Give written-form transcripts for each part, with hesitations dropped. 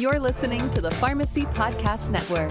You're listening to the Pharmacy Podcast Network.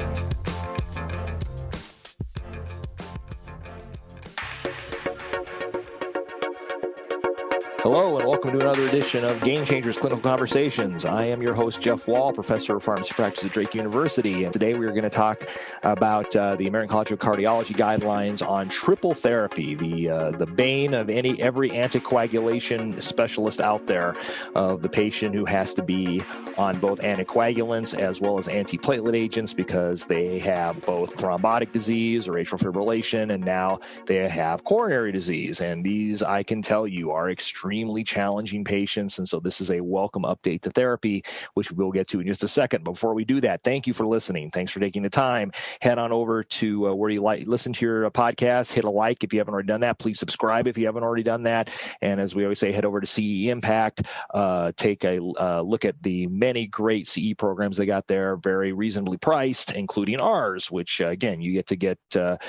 Hello, and welcome to another edition of Game Changers Clinical Conversations. I am your host, Jeff Wall, professor of pharmacy practice at Drake University. And today we are going to talk about the American College of Cardiology guidelines on triple therapy, the bane of every anticoagulation specialist out there, of the patient who has to be on both anticoagulants as well as antiplatelet agents because they have both thrombotic disease or atrial fibrillation, and now they have coronary disease. And these, I can tell you, are extremely challenging patients, and so this is a welcome update to therapy, which we'll get to in just a second. Before we do that, thank you for listening. Thanks for taking the time. Head on over to where you listen to your podcast. Hit a like if you haven't already done that. Please subscribe if you haven't already done that. And as we always say, head over to CE Impact. Take a look at the many great CE programs they got there, very reasonably priced, including ours, which again, you get to get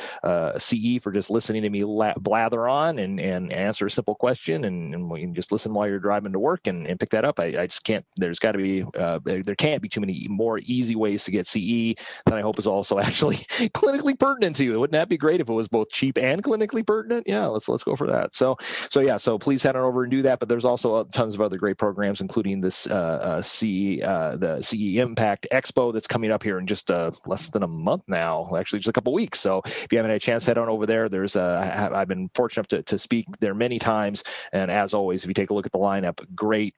CE for just listening to me blather on and answer a simple question, and you can just listen while you're driving to work and pick that up. I just can't, there's got to be, there can't be too many more easy ways to get CE that I hope is also actually clinically pertinent to you. Wouldn't that be great if it was both cheap and clinically pertinent? Yeah, let's go for that. So please head on over and do that. But there's also tons of other great programs, including this the CE Impact Expo that's coming up here in just less than a month now, actually just a couple weeks. So if you haven't had a chance, head on over there. There's I've been fortunate enough to speak there many times, and as always, if you take a look at the lineup, great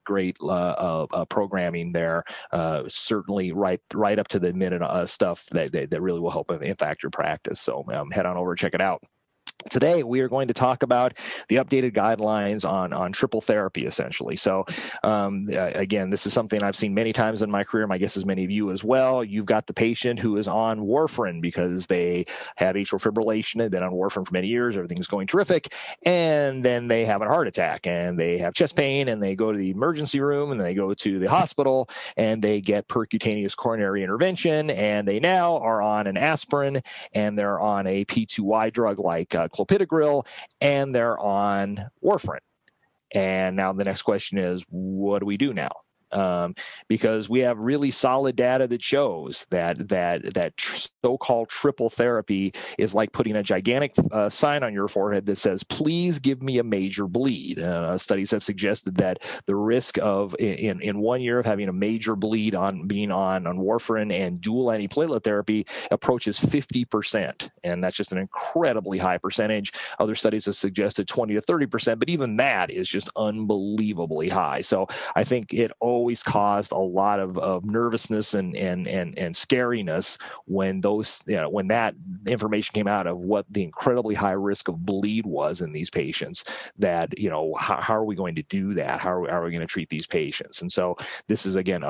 programming there. Certainly right up to the minute stuff that really will help impact your practice. So head on over and check it out. Today, we are going to talk about the updated guidelines on triple therapy, essentially. So, again, this is something I've seen many times in my career. My guess is many of you as well. You've got the patient who is on warfarin because they have atrial fibrillation. They've been on warfarin for many years. Everything's going terrific. And then they have a heart attack and they have chest pain and they go to the emergency room and they go to the hospital and they get percutaneous coronary intervention. And they now are on an aspirin and they're on a P2Y drug like clopidogrel, and they're on warfarin. And now the next question is, what do we do now? Because we have really solid data that shows that so-called triple therapy is like putting a gigantic sign on your forehead that says, please give me a major bleed. Studies have suggested that the risk of in 1 year of having a major bleed on being on warfarin and dual antiplatelet therapy approaches 50%. And that's just an incredibly high percentage. Other studies have suggested 20 to 30%, but even that is just unbelievably high. So I think it always caused a lot of nervousness and scariness when when that information came out of what the incredibly high risk of bleed was in these patients. That how are we going to do that? How are we going to treat these patients? And so this is again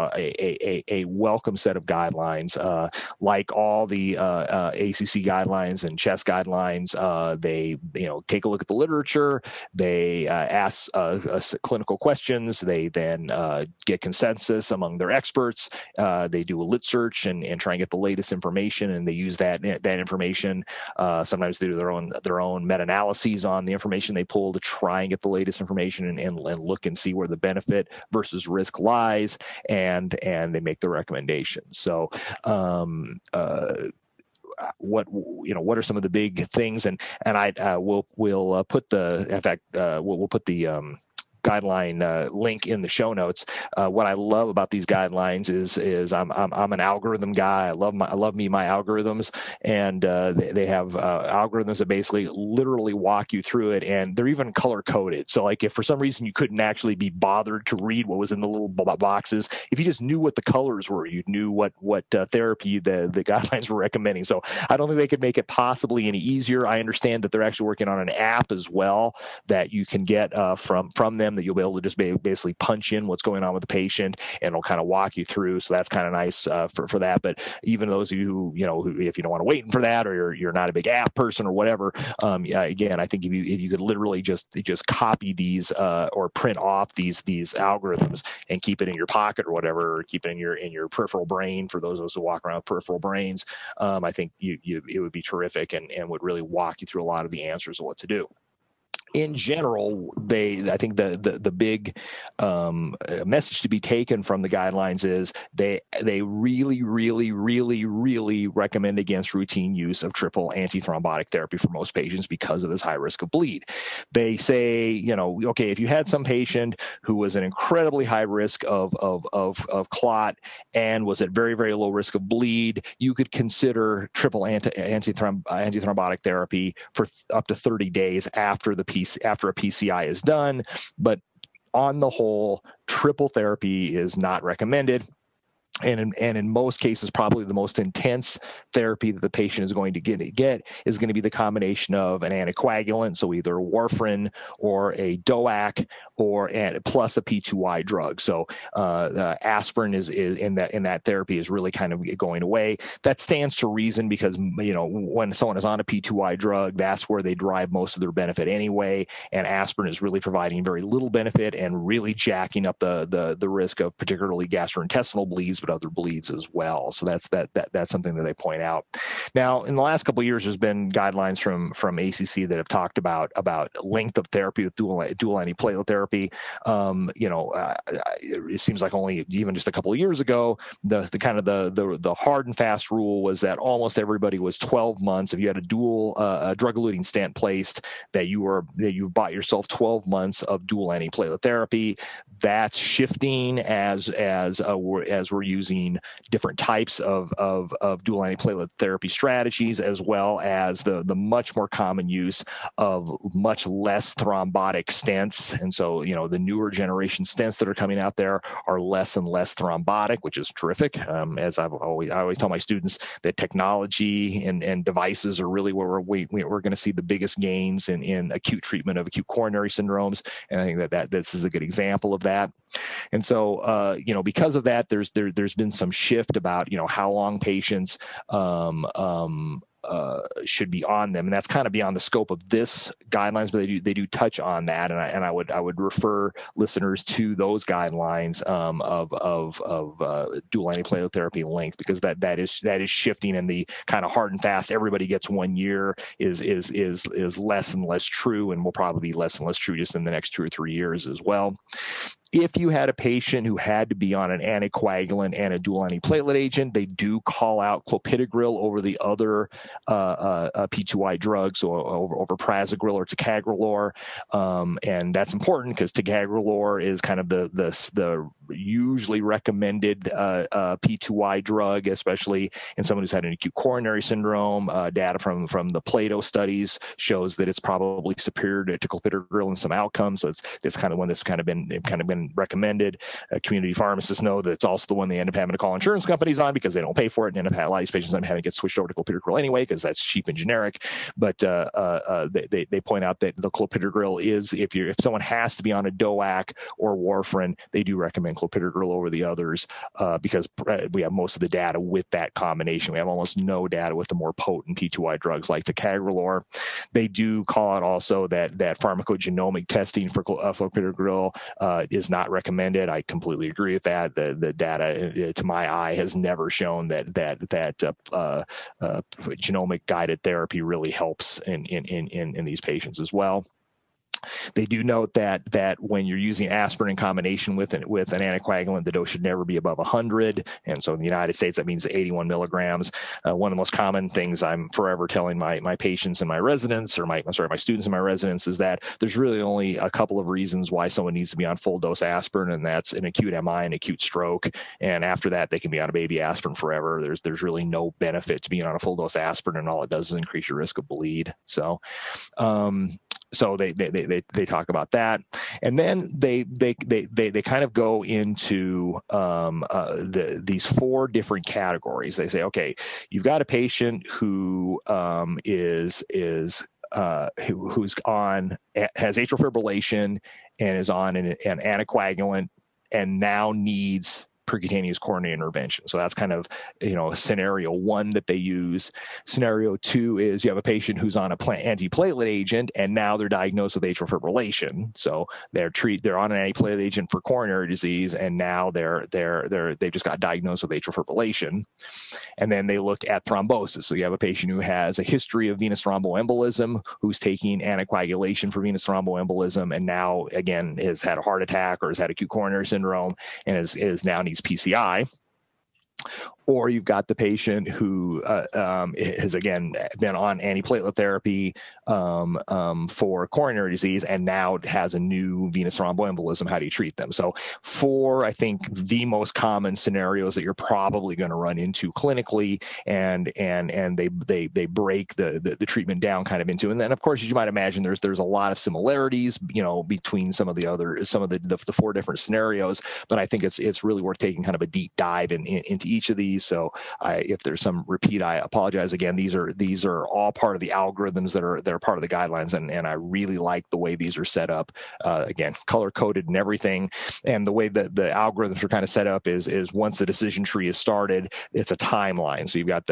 a welcome set of guidelines, like all the ACC guidelines and CHEST guidelines. They take a look at the literature. They ask clinical questions. They then get consensus among their experts. They do a lit search and try and get the latest information, and they use that information. Sometimes they do their own meta-analyses on the information they pull to try and get the latest information and look and see where the benefit versus risk lies, and they make the recommendations. So what are some of the big things, and we'll put the guideline link in the show notes. What I love about these guidelines is I'm an algorithm guy. I love my algorithms, and they have algorithms that basically literally walk you through it, and they're even color coded. So like if for some reason you couldn't actually be bothered to read what was in the little boxes, if you just knew what the colors were, you knew what therapy the guidelines were recommending. So I don't think they could make it possibly any easier. I understand that they're actually working on an app as well that you can get from them, that you'll be able to just basically punch in what's going on with the patient, and it'll kind of walk you through. So that's kind of nice for that. But even those of you who if you don't want to wait for that, or you're not a big app person or whatever, again, I think if you could literally just copy these or print off these algorithms and keep it in your pocket or whatever, or keep it in your peripheral brain for those of us who walk around with peripheral brains, I think it would be terrific and would really walk you through a lot of the answers of what to do. in general, I think the big message to be taken from the guidelines is they really, really, really, really recommend against routine use of triple antithrombotic therapy for most patients because of this high risk of bleed. They say, okay, if you had some patient who was an incredibly high risk of clot and was at very, very low risk of bleed, you could consider triple antithrombotic therapy for up to 30 days after a PCI is done. But on the whole, triple therapy is not recommended. And in most cases, probably the most intense therapy that the patient is going to get is going to be the combination of an anticoagulant, so either warfarin or a DOAC, plus a P2Y drug. So aspirin is in that therapy is really kind of going away. That stands to reason because when someone is on a P2Y drug, that's where they derive most of their benefit anyway, and aspirin is really providing very little benefit and really jacking up the risk of particularly gastrointestinal bleeds, but other bleeds as well. So that's something that they point out. Now, in the last couple of years, there's been guidelines from ACC that have talked about length of therapy with dual antiplatelet therapy. It seems like only even just a couple of years ago, the hard and fast rule was that almost everybody was 12 months. If you had a dual drug-eluting stent placed, that you've bought yourself 12 months of dual antiplatelet therapy. That's shifting as we're using different types of dual antiplatelet therapy strategies, as well as the much more common use of much less thrombotic stents. And so, the newer generation stents that are coming out there are less and less thrombotic, which is terrific. As I always tell my students that technology and devices are really where we're going to see the biggest gains in acute treatment of acute coronary syndromes. And I think that this is a good example of that. And so, because of that, there's been some shift about, how long patients should be on them, and that's kind of beyond the scope of this guidelines, but they do touch on that, and I would refer listeners to those guidelines of dual antiplatelet therapy length, because that is shifting, and the kind of hard and fast everybody gets 1 year is less and less true, and will probably be less and less true just in the next 2 or 3 years as well. If you had a patient who had to be on an anticoagulant and a dual antiplatelet agent, they do call out clopidogrel over the other P2Y drugs, or over prasugrel or ticagrelor, and that's important because ticagrelor is kind of the usually recommended P2Y drug, especially in someone who's had an acute coronary syndrome. Data from the Plato studies shows that it's probably superior to clopidogrel in some outcomes. So it's kind of one that's kind of been recommended. Community pharmacists know that it's also the one they end up having to call insurance companies on because they don't pay for it, and end up having a lot of these patients having to get switched over to clopidogrel anyway because that's cheap and generic. But they point out that the clopidogrel is, if someone has to be on a DOAC or warfarin, they do recommend clopidogrel over the others because we have most of the data with that combination. We have almost no data with the more potent P2Y drugs like ticagrelor. They do call out also that pharmacogenomic testing for clopidogrel is not recommended. I completely agree with that. The data, to my eye, has never shown that genomic guided therapy really helps in these patients as well. They do note that when you're using aspirin in combination with an anticoagulant, the dose should never be above 100. And so in the United States, that means 81 milligrams. One of the most common things I'm forever telling my patients and my residents, or my students and my residents, is that there's really only a couple of reasons why someone needs to be on full dose aspirin, and that's an acute MI and acute stroke. And after that, they can be on a baby aspirin forever. There's really no benefit to being on a full dose aspirin, and all it does is increase your risk of bleed. So they talk about that, and then they kind of go into these 4 different categories. They say, okay, you've got a patient who who's has atrial fibrillation and is on an anticoagulant and now needs percutaneous coronary intervention. So that's kind of, scenario one that they use. Scenario two is you have a patient who's on a antiplatelet agent, and now they're diagnosed with atrial fibrillation. So they're on an antiplatelet agent for coronary disease, and now they just got diagnosed with atrial fibrillation. And then they look at thrombosis. So you have a patient who has a history of venous thromboembolism, who's taking anticoagulation for venous thromboembolism, and now again has had a heart attack or has had acute coronary syndrome and is now needs PCI. Or you've got the patient who has, again, been on antiplatelet therapy for coronary disease and now has a new venous thromboembolism. How do you treat them? So I think, the most common scenarios that you're probably going to run into clinically, and they break the treatment down kind of into. And then, of course, as you might imagine, there's a lot of similarities, between some of the four different scenarios. But I think it's really worth taking kind of a deep dive into each of these. So if there's some repeat, I apologize. Again, these are all part of the algorithms that are part of the guidelines, and I really like the way these are set up. Again, color coded and everything, and the way that the algorithms are kind of set up is once the decision tree is started, it's a timeline. So you've got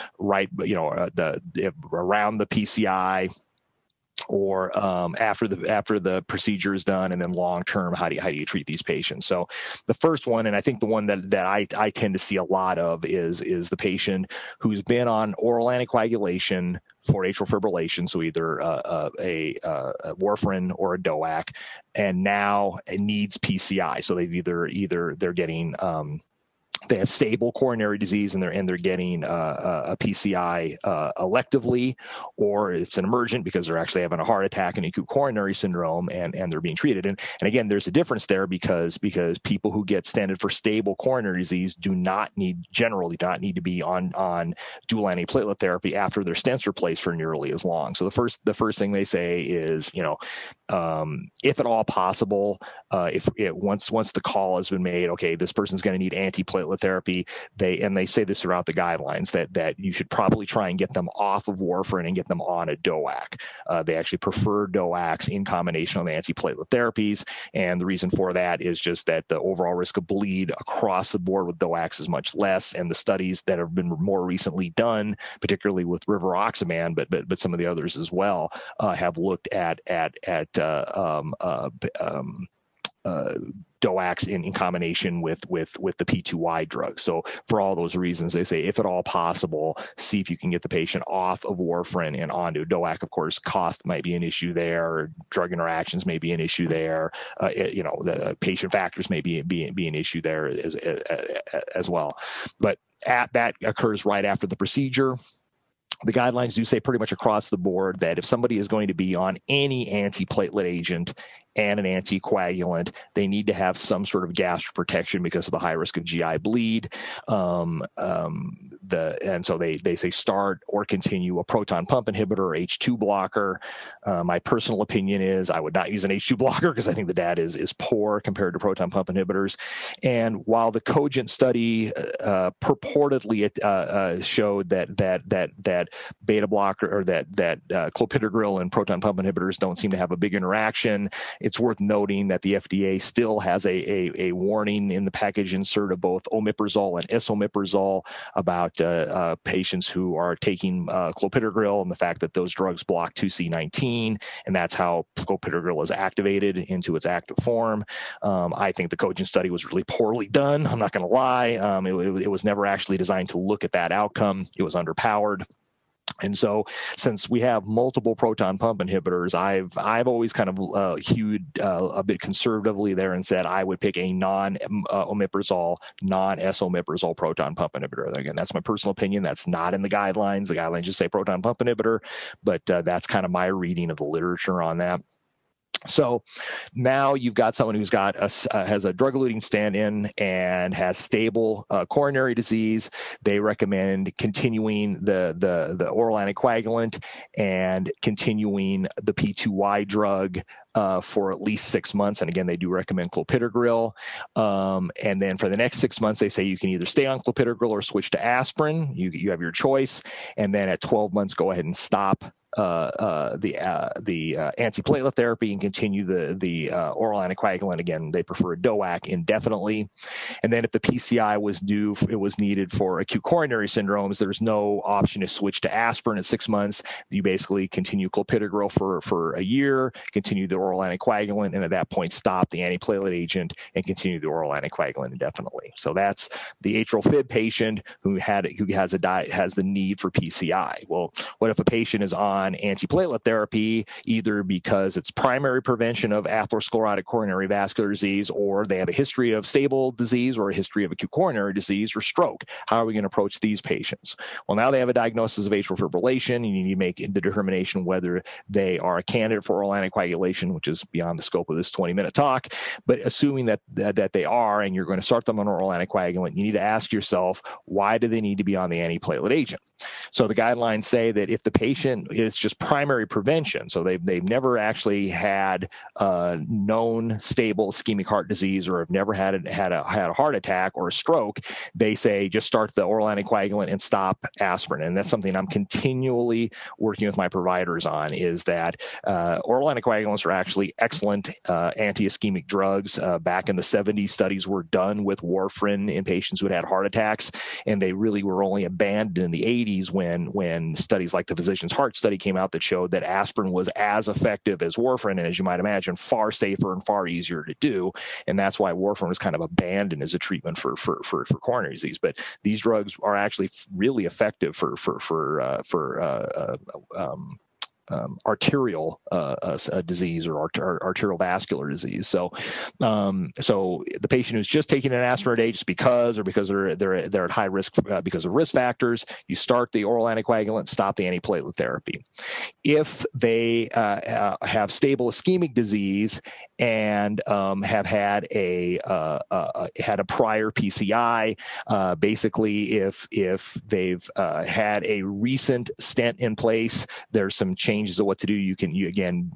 around the PCI, or after the procedure is done, and then long term, how do you treat these patients? So the first one, and I think the one that I tend to see a lot of is the patient who's been on oral anticoagulation for atrial fibrillation, so either a warfarin or a DOAC, and now it needs PCI. So they've they're getting they have stable coronary disease and they're getting a PCI electively, or it's an emergent because they're actually having a heart attack and acute coronary syndrome, and they're being treated. And again, there's a difference there because people who get stented for stable coronary disease generally do not need to be on dual antiplatelet therapy after their stents are placed for nearly as long. So the first thing they say is, if at all possible, once the call has been made, okay, this person's going to need antiplatelet therapy, they say this throughout the guidelines that you should probably try and get them off of warfarin and get them on a DOAC. They actually prefer DOACs in combination with antiplatelet therapies, and the reason for that is just that the overall risk of bleed across the board with DOACs is much less, and the studies that have been more recently done, particularly with rivaroxaban, but some of the others as well, have looked at DOACs in combination with the P2Y drug. So for all those reasons, they say, if at all possible, see if you can get the patient off of warfarin and onto DOAC. Of course, cost might be an issue there. Drug interactions may be an issue there. The patient factors may be an issue there as well. But that occurs right after the procedure. The guidelines do say pretty much across the board that if somebody is going to be on any antiplatelet agent and an anticoagulant, they need to have some sort of gastroprotection because of the high risk of GI bleed. And so they say start or continue a proton pump inhibitor or H2 blocker. My personal opinion is I would not use an H2 blocker because I think the data is poor compared to proton pump inhibitors. And while the Cogent study purportedly showed that beta blocker or that clopidogrel and proton pump inhibitors don't seem to have a big interaction, it's worth noting that the FDA still has a warning in the package insert of both omeprazole and esomeprazole about patients who are taking clopidogrel and the fact that those drugs block 2C19, and that's how clopidogrel is activated into its active form. I think the Cogent study was really poorly done. I'm not going to lie. It was never actually designed to look at that outcome. It was underpowered. And so since we have multiple proton pump inhibitors, I've always kind of hewed a bit conservatively there and said I would pick a non-omeprazole, non-esomeprazole proton pump inhibitor. Again, that's my personal opinion. That's not in the guidelines. The guidelines just say proton pump inhibitor, but that's kind of my reading of the literature on that. So now you've got someone who's has a drug-eluting stand-in and has stable coronary disease. They recommend continuing the oral anticoagulant and continuing the P2Y drug for at least 6 months. And again, they do recommend clopidogrel. And then for the next 6 months, they say you can either stay on clopidogrel or switch to aspirin. You have your choice. And then at 12 months, go ahead and stop the antiplatelet therapy and continue the oral anticoagulant. Again, they prefer a DOAC indefinitely. And then if the PCI was needed for acute coronary syndromes, there's no option to switch to aspirin at 6 months. You basically continue clopidogrel for a year, continue the oral anticoagulant, and at that point stop the antiplatelet agent and continue the oral anticoagulant indefinitely. So that's the atrial fib patient who has the need for PCI. Well, what if a patient is on antiplatelet therapy, either because it's primary prevention of atherosclerotic coronary vascular disease, or they have a history of stable disease or a history of acute coronary disease or stroke? How are we going to approach these patients? Well, now they have a diagnosis of atrial fibrillation, and you need to make the determination whether they are a candidate for oral anticoagulation, which is beyond the scope of this 20-minute talk. But assuming that they are, and you're going to start them on oral anticoagulant, you need to ask yourself, why do they need to be on the antiplatelet agent? So the guidelines say that if the patient is just primary prevention, so they've never actually had known stable ischemic heart disease, or have never had a heart attack or a stroke, they say just start the oral anticoagulant and stop aspirin. And that's something I'm continually working with my providers on, is that oral anticoagulants are actually excellent anti-ischemic drugs. Back in the 70s, studies were done with warfarin in patients who had heart attacks, and they really were only abandoned in the 80s when studies like the Physicians' Heart Study came out that showed that aspirin was as effective as warfarin, and as you might imagine, far safer and far easier to do. And that's why warfarin was kind of abandoned as a treatment for coronary disease. But these drugs are actually really effective for arterial disease or arterial vascular disease. So the patient who's just taking an aspirin today just because they're at high risk because of risk factors, you start the oral anticoagulant, stop the antiplatelet therapy. If they have stable ischemic disease and have had a prior PCI, basically if they've had a recent stent in place, there's some changes of what to do. You again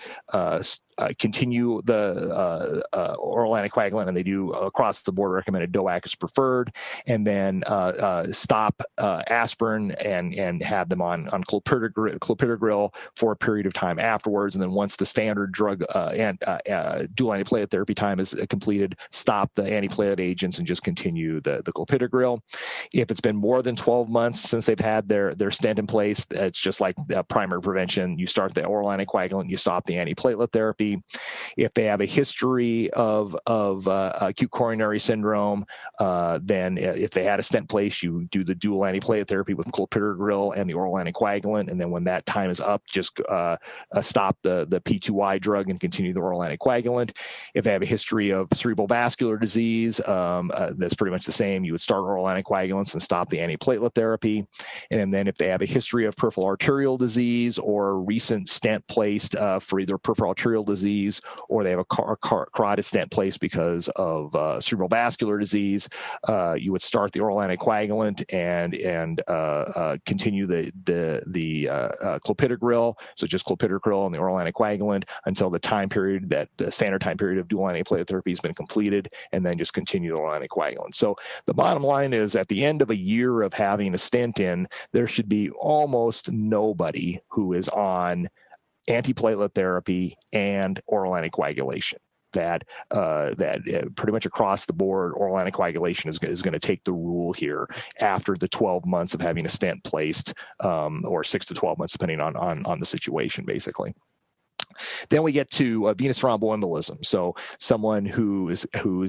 continue the oral anticoagulant, and they do across the board recommended DOAC is preferred, and then stop aspirin and have them on clopidogrel for a period of time afterwards. And then once the standard drug and dual antiplatelet therapy time is completed, stop the antiplatelet agents and just continue the clopidogrel. If it's been more than 12 months since they've had their stent in place, it's just like primary prevention. You start the oral anticoagulant, you stop the antiplatelet therapy. If they have a history of acute coronary syndrome, then if they had a stent place, you do the dual antiplatelet therapy with clopidogrel and the oral anticoagulant. And then when that time is up, just stop the P2Y drug and continue the oral anticoagulant. If they have a history of cerebral vascular disease, that's pretty much the same. You would start oral anticoagulants and stop the antiplatelet therapy. And then if they have a history of peripheral arterial disease or a recent stent placed for either peripheral arterial disease, or they have a carotid stent placed because of cerebral vascular disease, you would start the oral anticoagulant and continue the clopidogrel. So just clopidogrel and the oral anticoagulant until the time period, that the standard time period of dual antiplatelet therapy has been completed, and then just continue the oral anticoagulant. So the bottom line is, at the end of a year of having a stent in, there should be almost nobody who is on antiplatelet therapy and oral anticoagulation. That pretty much across the board, oral anticoagulation is going to take the rule here after the 12 months of having a stent placed, or 6 to 12 months, depending on the situation, basically. Then we get to venous thromboembolism. So someone who's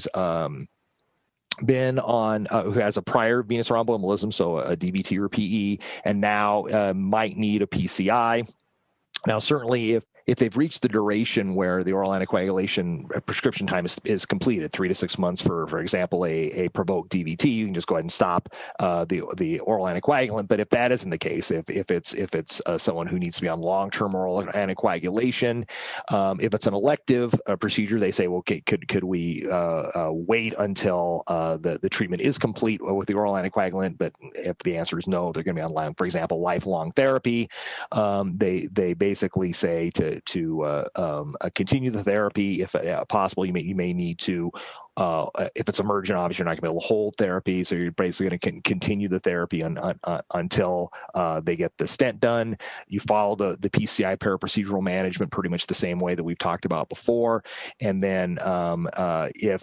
been on who has a prior venous thromboembolism, so a DVT or PE, and now might need a PCI. Now, certainly if they've reached the duration where the oral anticoagulation prescription time is completed, 3 to 6 months, for example, a provoked DVT, you can just go ahead and stop the oral anticoagulant. But if that isn't the case, if it's someone who needs to be on long-term oral anticoagulation, if it's an elective procedure, they say, well, okay, could we wait until the treatment is complete with the oral anticoagulant? But if the answer is no, they're going to be on, for example, lifelong therapy. They basically say to continue the therapy if possible. You may need to. If it's emergent, obviously you're not going to be able to hold therapy, so you're basically going to continue the therapy until they get the stent done. You follow the PCI paraprocedural management pretty much the same way that we've talked about before, and then if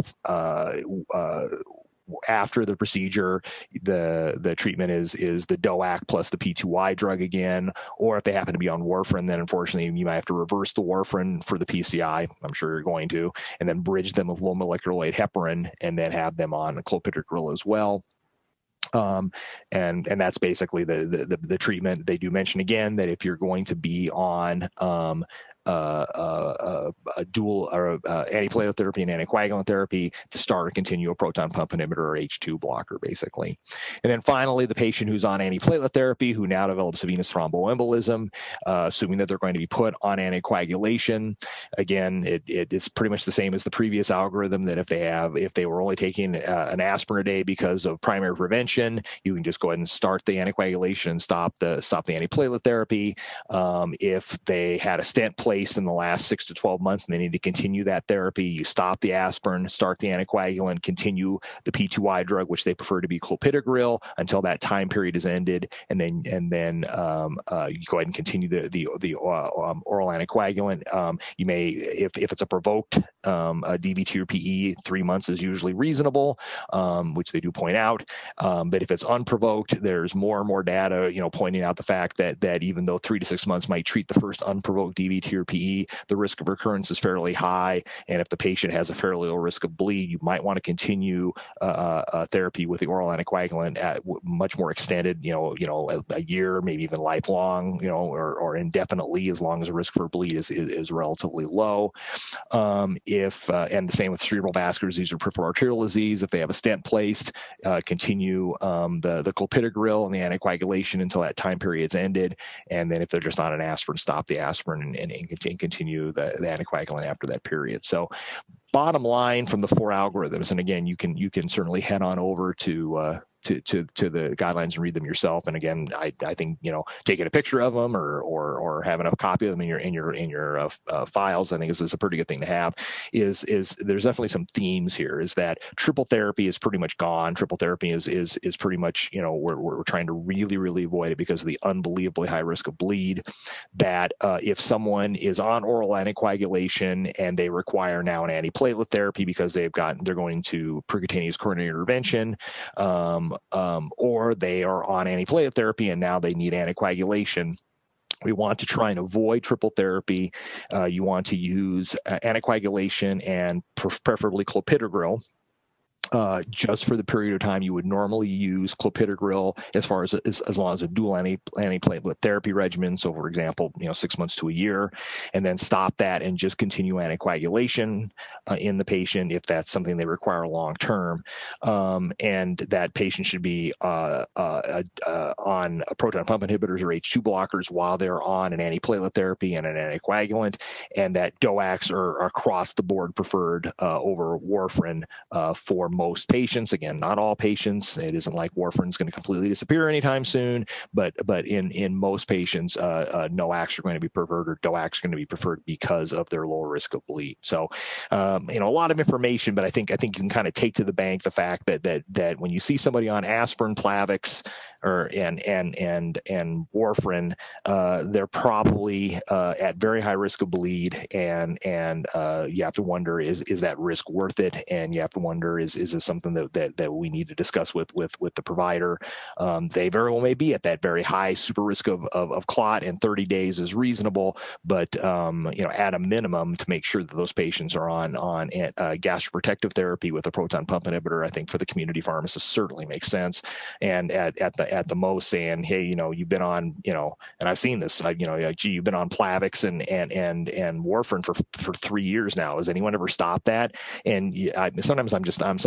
after the procedure, the treatment is the DOAC plus the P2Y drug again, or if they happen to be on warfarin, then unfortunately you might have to reverse the warfarin for the PCI. I'm sure you're going to, and then bridge them with low molecular weight heparin, and then have them on clopidogrel as well. And that's basically the treatment. They do mention again that if you're going to be on a dual or antiplatelet therapy and anticoagulant therapy, to start or continue a proton pump inhibitor or H2 blocker, basically. And then finally, the patient who's on antiplatelet therapy who now develops a venous thromboembolism, assuming that they're going to be put on anticoagulation, again, it's pretty much the same as the previous algorithm, that if they were only taking an aspirin a day because of primary prevention, you can just go ahead and start the anticoagulation and stop the antiplatelet therapy. If they had a stent placed in the last 6 to 12 months and they need to continue that therapy, you stop the aspirin, start the anticoagulant, continue the P2Y drug, which they prefer to be clopidogrel, until that time period is ended, and then you go ahead and continue the oral anticoagulant. You may, if it's a provoked DVT or PE, 3 months is usually reasonable, which they do point out. But if it's unprovoked, there's more and more data, pointing out the fact that even though 3 to 6 months might treat the first unprovoked DVT or PE, the risk of recurrence is fairly high. And if the patient has a fairly low risk of bleed, you might want to continue therapy with the oral anticoagulant at much more extended, a year, maybe even lifelong, or indefinitely, as long as the risk for bleed is relatively low. And the same with cerebral vascular disease or peripheral arterial disease. If they have a stent placed, continue the clopidogrel and the anticoagulation until that time period's ended. And then if they're just on an aspirin, stop the aspirin and continue the anticoagulant after that period. So bottom line from the 4 algorithms, and again, you can certainly head on over to the guidelines and read them yourself. And again, I think taking a picture of them or having a copy of them in your files, I think is a pretty good thing to have. Is there's definitely some themes here. Is that triple therapy is pretty much gone. Triple therapy is pretty much we're trying to really avoid it because of the unbelievably high risk of bleed. That if someone is on oral anticoagulation and they require now an antiplatelet therapy because they're going to percutaneous coronary intervention, or they are on antiplatelet therapy and now they need anticoagulation, we want to try and avoid triple therapy. You want to use anticoagulation and preferably clopidogrel. Just for the period of time you would normally use clopidogrel, as long as a dual antiplatelet therapy regimen. So, for example, 6 months to a year, and then stop that and just continue anticoagulation in the patient if that's something they require long term. And that patient should be on proton pump inhibitors or H2 blockers while they're on an antiplatelet therapy and an anticoagulant, and that DOACs are across the board preferred over warfarin for most patients. Again, not all patients. It isn't like warfarin is going to completely disappear anytime soon, but in most patients, NOACs are going to be preferred, or DOACs are going to be preferred because of their lower risk of bleed. So, a lot of information, but I think you can kind of take to the bank the fact that when you see somebody on aspirin, Plavix, and warfarin, they're probably at very high risk of bleed, and you have to wonder, is that risk worth it? And you have to wonder, is this something that we need to discuss with the provider? They very well may be at that very high super risk of clot, and 30 days is reasonable, but at a minimum, to make sure that those patients are on gastroprotective therapy with a proton pump inhibitor, I think for the community pharmacist certainly makes sense. And at the most saying, hey, you've been on, and I've seen this, you've been on Plavix and warfarin for 3 years now. Has anyone ever stopped that? And sometimes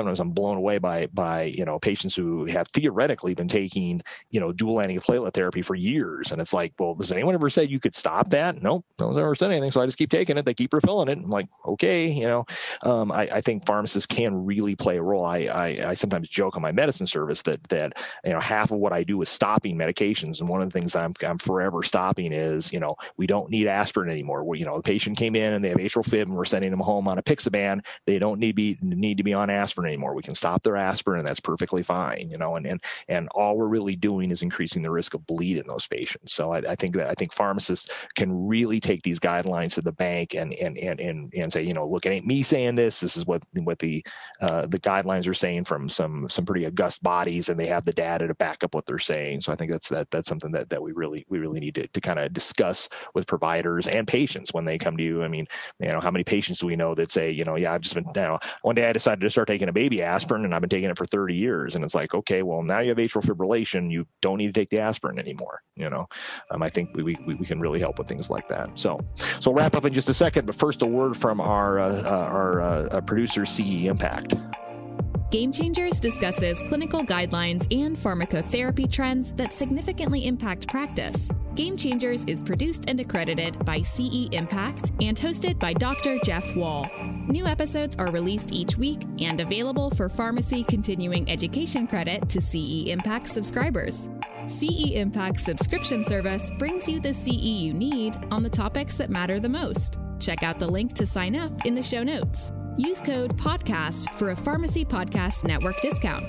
sometimes I'm blown away by patients who have theoretically been taking, dual antiplatelet therapy for years. And it's like, well, has anyone ever said you could stop that? Nope, no one's ever said anything. So I just keep taking it. They keep refilling it. I'm like, okay, I think pharmacists can really play a role. I sometimes joke on my medicine service that half of what I do is stopping medications. And one of the things I'm forever stopping is, we don't need aspirin anymore. The patient came in and they have atrial fib and we're sending them home on apixaban. They don't need to be on aspirin anymore. We can stop their aspirin and that's perfectly fine, and all we're really doing is increasing the risk of bleed in those patients. So I think pharmacists can really take these guidelines to the bank and say, look, it ain't me saying this. This is what the guidelines are saying from some pretty august bodies, and they have the data to back up what they're saying. So I think that's something that we really need to kind of discuss with providers and patients when they come to you. I mean, how many patients do we know that say, I've just been, one day I decided to start taking a baby aspirin and I've been taking it for 30 years. And it's like, okay, well, now you have atrial fibrillation. You don't need to take the aspirin anymore. I think we can really help with things like that. So we'll wrap up in just a second, but first a word from our producer, CE Impact. Game Changers discusses clinical guidelines and pharmacotherapy trends that significantly impact practice. Game Changers is produced and accredited by CE Impact and hosted by Dr. Jeff Wall. New episodes are released each week and available for pharmacy continuing education credit to CE Impact subscribers. CE Impact subscription service brings you the CE you need on the topics that matter the most. Check out the link to sign up in the show notes. Use code PODCAST for a Pharmacy Podcast Network discount.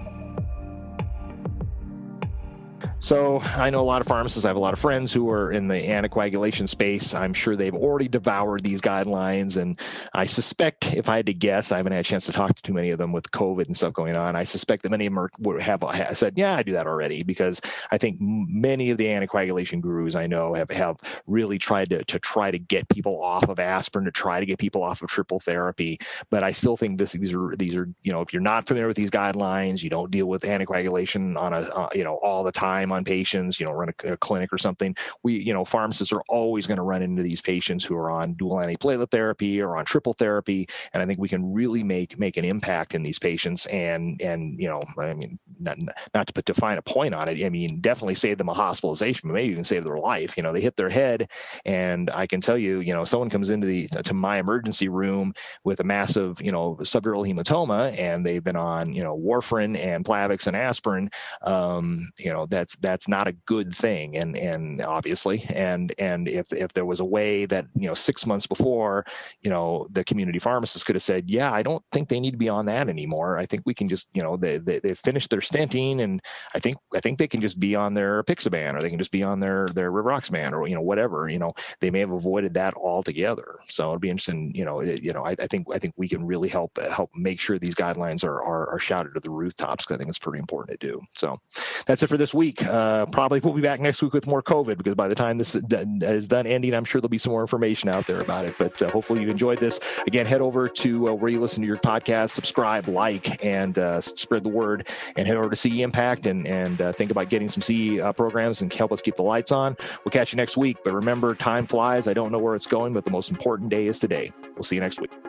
So I know a lot of pharmacists. I have a lot of friends who are in the anticoagulation space. I'm sure they've already devoured these guidelines. And I suspect, if I had to guess, I haven't had a chance to talk to too many of them with COVID and stuff going on. I suspect that many of them would have said, yeah, I do that already, because I think many of the anticoagulation gurus I know have really tried to get people off of aspirin, to try to get people off of triple therapy. But I still think these are if you're not familiar with these guidelines, you don't deal with anticoagulation on all the time on patients, run a clinic or something. Pharmacists are always going to run into these patients who are on dual antiplatelet therapy or on triple therapy. And I think we can really make an impact in these patients and not to define a point on it. I mean, definitely save them a hospitalization, but maybe even save their life. They hit their head. And I can tell you, someone comes to my emergency room with a massive, subdural hematoma, and they've been on, warfarin and Plavix and aspirin. That's not a good thing. And obviously, and if there was a way that, 6 months before, the community pharmacist could have said, yeah, I don't think they need to be on that anymore. I think we can just, they've finished their stenting, and I think they can just be on their apixaban, or they can just be on their rivaroxaban, or, whatever, they may have avoided that altogether. So it'd be interesting, I think we can really help make sure these guidelines are shouted to the rooftops, because I think it's pretty important to do. So that's it for this week. Probably we'll be back next week with more COVID, because by the time this is done ending, I'm sure there'll be some more information out there about it. But hopefully you enjoyed this. Again, head over to where you listen to your podcast, subscribe, like, and spread the word, and head over to CE Impact and think about getting some CE programs and help us keep the lights on. We'll catch you next week. But remember, time flies. I don't know where it's going, but the most important day is today. We'll see you next week.